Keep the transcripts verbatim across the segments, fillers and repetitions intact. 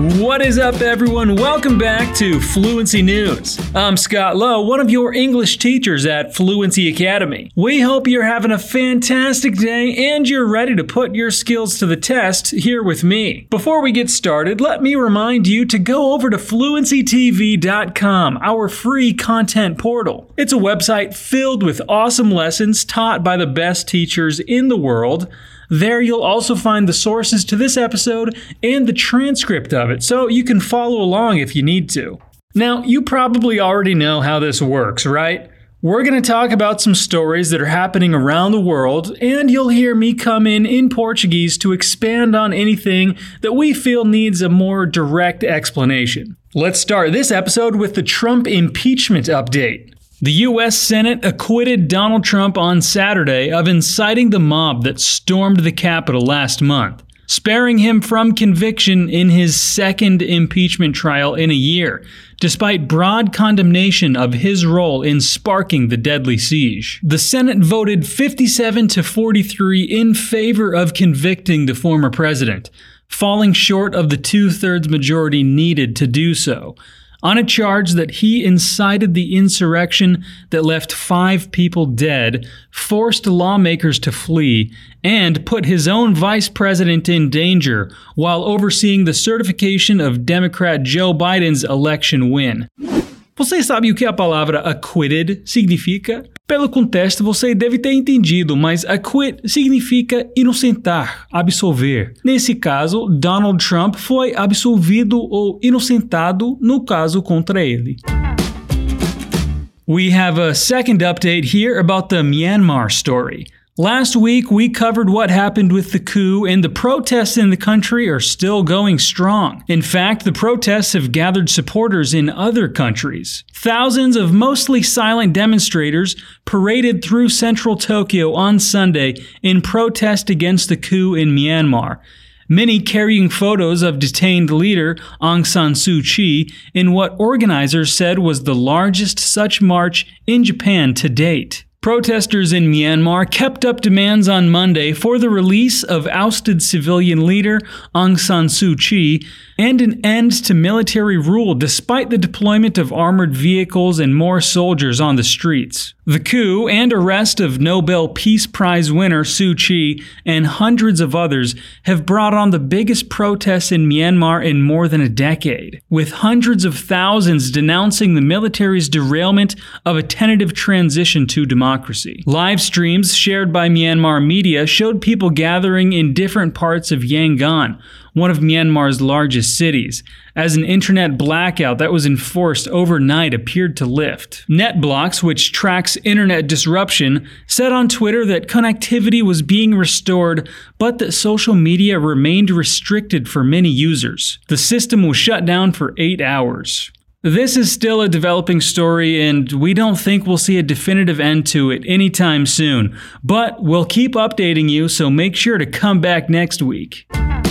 What is up, everyone? Welcome back to Fluency News. I'm Scott Lowe, one of your English teachers at Fluency Academy. We hope you're having a fantastic day and you're ready to put your skills to the test here with me. Before we get started, let me remind you to go over to fluency t v dot com, our free content portal. It's a website filled with awesome lessons taught by the best teachers in the world. There you'll also find the sources to this episode and the transcript of it, so you can follow along if you need to. Now, you probably already know how this works, right? We're going to talk about some stories that are happening around the world, and you'll hear me come in in Portuguese to expand on anything that we feel needs a more direct explanation. Let's start this episode with the Trump impeachment update. The U S Senate acquitted Donald Trump on Saturday of inciting the mob that stormed the Capitol last month, sparing him from conviction in his second impeachment trial in a year, despite broad condemnation of his role in sparking the deadly siege. The Senate voted fifty-seven to forty-three in favor of convicting the former president, falling short of the two-thirds majority needed to do so, on a charge that he incited the insurrection that left five people dead, forced lawmakers to flee, and put his own vice president in danger while overseeing the certification of Democrat Joe Biden's election win. Você sabe o que a palavra acquitted significa? Pelo contexto, você deve ter entendido, mas acquit significa inocentar, absolver. Nesse caso, Donald Trump foi absolvido ou inocentado no caso contra ele. We have a second update here about the Myanmar story. Last week, we covered what happened with the coup, and the protests in the country are still going strong. In fact, the protests have gathered supporters in other countries. Thousands of mostly silent demonstrators paraded through central Tokyo on Sunday in protest against the coup in Myanmar, many carrying photos of detained leader Aung San Suu Kyi in what organizers said was the largest such march in Japan to date. Protesters in Myanmar kept up demands on Monday for the release of ousted civilian leader Aung San Suu Kyi and an end to military rule despite the deployment of armored vehicles and more soldiers on the streets. The coup and arrest of Nobel Peace Prize winner Suu Kyi and hundreds of others have brought on the biggest protests in Myanmar in more than a decade, with hundreds of thousands denouncing the military's derailment of a tentative transition to democracy. Live streams shared by Myanmar media showed people gathering in different parts of Yangon, one of Myanmar's largest cities, as an internet blackout that was enforced overnight appeared to lift. NetBlocks, which tracks internet disruption, said on Twitter that connectivity was being restored, but that social media remained restricted for many users. The system was shut down for eight hours. This is still a developing story, and we don't think we'll see a definitive end to it anytime soon, but we'll keep updating you, so make sure to come back next week.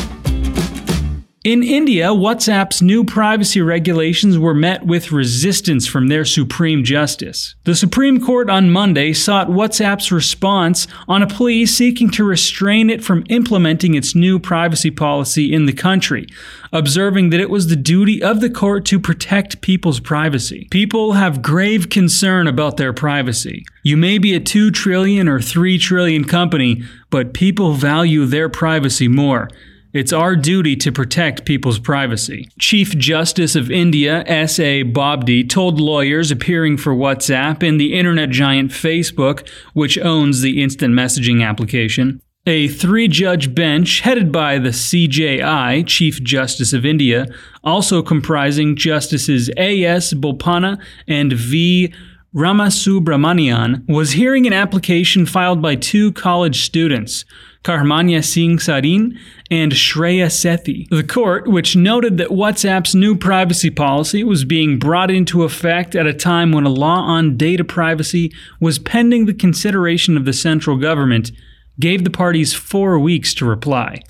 In India, WhatsApp's new privacy regulations were met with resistance from their Supreme Justice. The Supreme Court on Monday sought WhatsApp's response on a plea seeking to restrain it from implementing its new privacy policy in the country, observing that it was the duty of the court to protect people's privacy. People have grave concern about their privacy. You may be a two trillion or three trillion company, but people value their privacy more. It's our duty to protect people's privacy. Chief Justice of India, S A Bobde, told lawyers appearing for WhatsApp and the internet giant Facebook, which owns the instant messaging application. A three-judge bench headed by the C J I, Chief Justice of India, also comprising Justices A S Bopanna and V Ramasubramanian, was hearing an application filed by two college students, Karmanya Singh Sarin and Shreya Sethi. The court, which noted that WhatsApp's new privacy policy was being brought into effect at a time when a law on data privacy was pending the consideration of the central government, gave the parties four weeks to reply.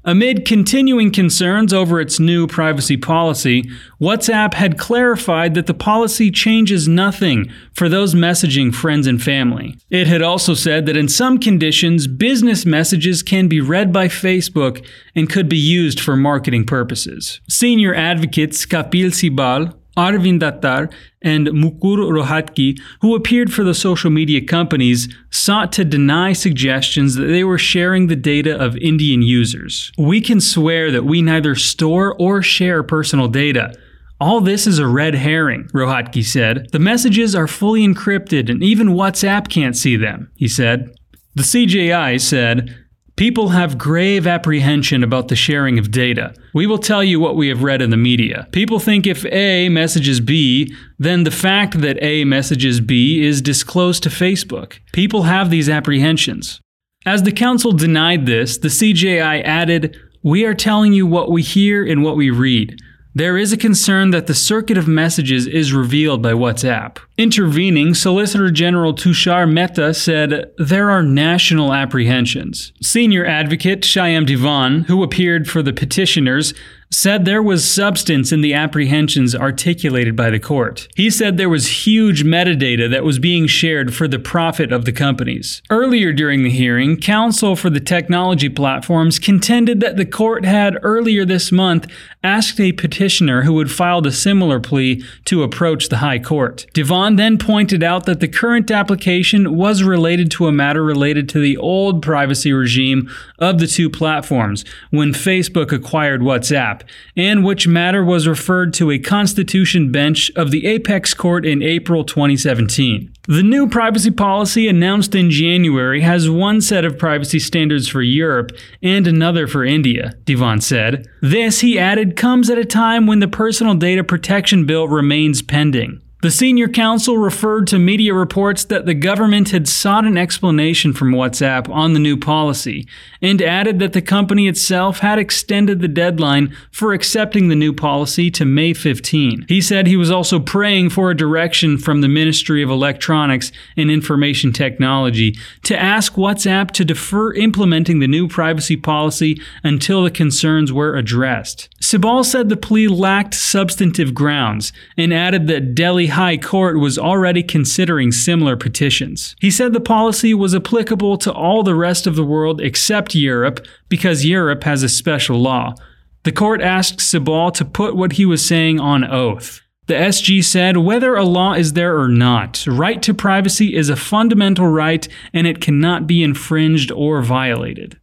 Amid continuing concerns over its new privacy policy, WhatsApp had clarified that the policy changes nothing for those messaging friends and family. It had also said that in some conditions, business messages can be read by Facebook and could be used for marketing purposes. Senior advocates Kapil Sibal, Arvind Dattar, and Mukul Rohatgi, who appeared for the social media companies, sought to deny suggestions that they were sharing the data of Indian users. "We can swear that we neither store or share personal data. All this is a red herring," Rohatgi said. "The messages are fully encrypted and even WhatsApp can't see them," he said. The C J I said, "People have grave apprehension about the sharing of data. We will tell you what we have read in the media. People think if A messages B, then the fact that A messages B is disclosed to Facebook. People have these apprehensions." As the council denied this, the C J I added, "We are telling you what we hear and what we read. There is a concern that the circuit of messages is revealed by WhatsApp." Intervening, Solicitor General Tushar Mehta said, "There are national apprehensions." Senior advocate Shyam Divan, who appeared for the petitioners, said there was substance in the apprehensions articulated by the court. He said there was huge metadata that was being shared for the profit of the companies. Earlier during the hearing, counsel for the technology platforms contended that the court had earlier this month asked a petitioner who had filed a similar plea to approach the High Court. Divan then pointed out that the current application was related to a matter related to the old privacy regime of the two platforms when Facebook acquired WhatsApp, and which matter was referred to a Constitution bench of the Apex Court in April twenty seventeen. The new privacy policy announced in January has one set of privacy standards for Europe and another for India, Divan said. This, he added, comes at a time when the Personal Data Protection Bill remains pending. The senior counsel referred to media reports that the government had sought an explanation from WhatsApp on the new policy, and added that the company itself had extended the deadline for accepting the new policy to May fifteenth. He said he was also praying for a direction from the Ministry of Electronics and Information Technology to ask WhatsApp to defer implementing the new privacy policy until the concerns were addressed. Sibal said the plea lacked substantive grounds, and added that Delhi High Court was already considering similar petitions. He said the policy was applicable to all the rest of the world except Europe because Europe has a special law. The court asked Sibal to put what he was saying on oath. The S G said whether a law is there or not, right to privacy is a fundamental right and it cannot be infringed or violated.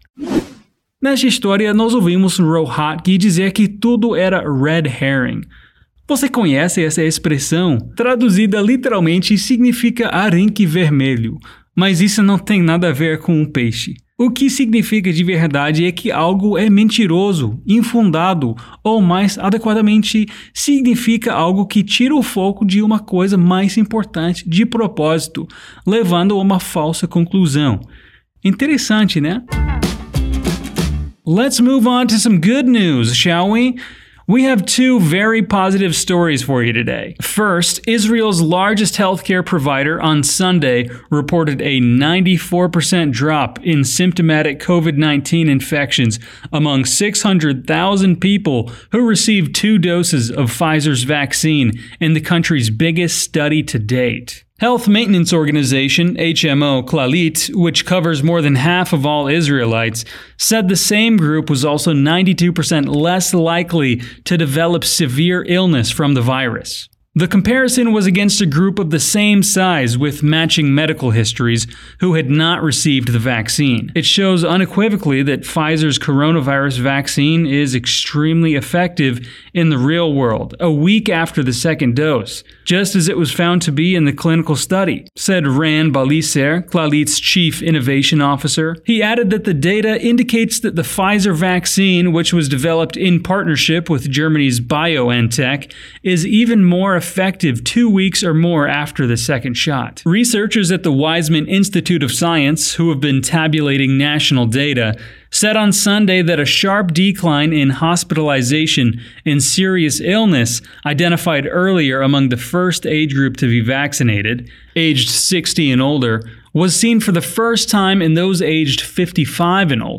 Nesta história, nós ouvimos Rohatgi dizer que tudo era red herring. Você conhece essa expressão? Traduzida literalmente significa arenque vermelho, mas isso não tem nada a ver com um peixe. O que significa de verdade é que algo é mentiroso, infundado, ou mais adequadamente, significa algo que tira o foco de uma coisa mais importante de propósito, levando a uma falsa conclusão. Interessante, né? Let's move on to some good news, shall we? We have two very positive stories for you today. First, Israel's largest healthcare provider on Sunday reported a ninety-four percent drop in symptomatic COVID nineteen infections among six hundred thousand people who received two doses of Pfizer's vaccine in the country's biggest study to date. Health maintenance organization H M O Clalit, which covers more than half of all Israelites, said the same group was also ninety-two percent less likely to develop severe illness from the virus. The comparison was against a group of the same size with matching medical histories who had not received the vaccine. It shows unequivocally that Pfizer's coronavirus vaccine is extremely effective in the real world, a week after the second dose, just as it was found to be in the clinical study, said Ran Baliser, Clarit's chief innovation officer. He added that the data indicates that the Pfizer vaccine, which was developed in partnership with Germany's BioNTech, is even more effective two weeks or more after the second shot. Researchers at the Weizmann Institute of Science, who have been tabulating national data, said on Sunday that a sharp decline in hospitalization and serious illness identified earlier among the first age group to be vaccinated, aged sixty and older, was seen for the first time in those aged fifty-five and older.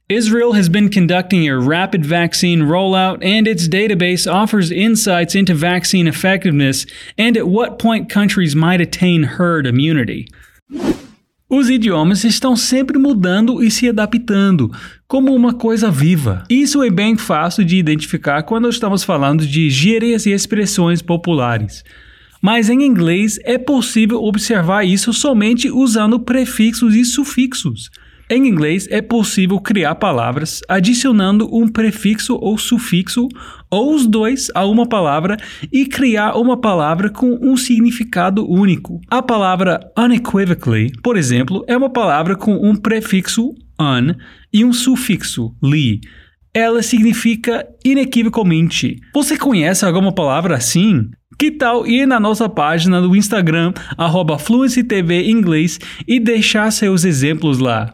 Israel has been conducting a rapid vaccine rollout, and its database offers insights into vaccine effectiveness and at what point countries might attain herd immunity. Os idiomas estão sempre mudando e se adaptando, como uma coisa viva. Isso é bem fácil de identificar quando estamos falando de gírias e expressões populares. Mas em inglês é possível observar isso somente usando prefixos e sufixos. Em inglês, é possível criar palavras adicionando um prefixo ou sufixo, ou os dois, a uma palavra e criar uma palavra com um significado único. A palavra unequivocally, por exemplo, é uma palavra com um prefixo un e um sufixo li. Ela significa inequivocamente. Você conhece alguma palavra assim? Que tal ir na nossa página do Instagram, arroba Fluency T V Inglês, e deixar seus exemplos lá?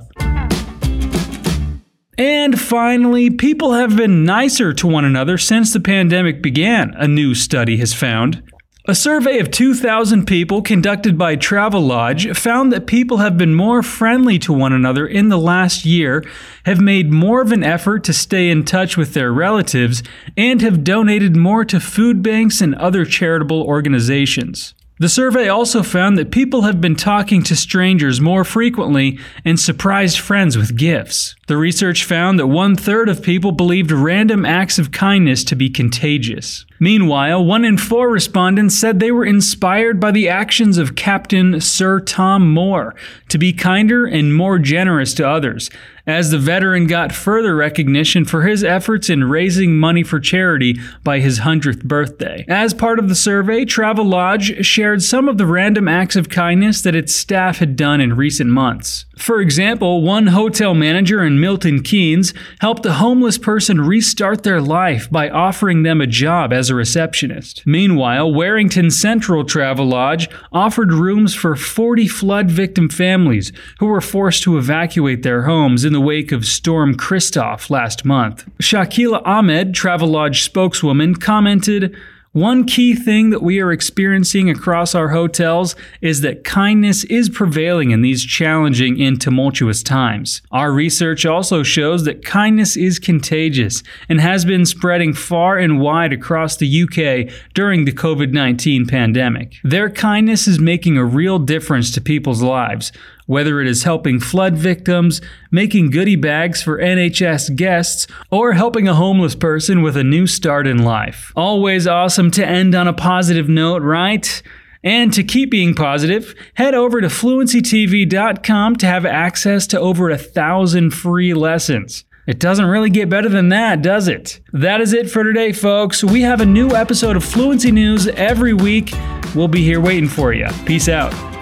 And finally, people have been nicer to one another since the pandemic began, a new study has found. A survey of two thousand people conducted by Travelodge found that people have been more friendly to one another in the last year, have made more of an effort to stay in touch with their relatives, and have donated more to food banks and other charitable organizations. The survey also found that people have been talking to strangers more frequently and surprised friends with gifts. The research found that one-third of people believed random acts of kindness to be contagious. Meanwhile, one in four respondents said they were inspired by the actions of Captain Sir Tom Moore to be kinder and more generous to others, as the veteran got further recognition for his efforts in raising money for charity by his hundredth birthday. As part of the survey, Travelodge shared some of the random acts of kindness that its staff had done in recent months. For example, one hotel manager in Milton Keynes helped a homeless person restart their life by offering them a job as a receptionist. Meanwhile, Warrington Central Travelodge offered rooms for forty flood victim families who were forced to evacuate their homes in the wake of Storm Christoph last month. Shakila Ahmed, Travelodge spokeswoman, commented, "One key thing that we are experiencing across our hotels is that kindness is prevailing in these challenging and tumultuous times. Our research also shows that kindness is contagious and has been spreading far and wide across the U K during the COVID nineteen pandemic. Their kindness is making a real difference to people's lives, whether it is helping flood victims, making goodie bags for N H S guests, or helping a homeless person with a new start in life." Always awesome to end on a positive note, right? And to keep being positive, head over to fluency t v dot com to have access to over a thousand free lessons. It doesn't really get better than that, does it? That is it for today, folks. We have a new episode of Fluency News every week. We'll be here waiting for you. Peace out.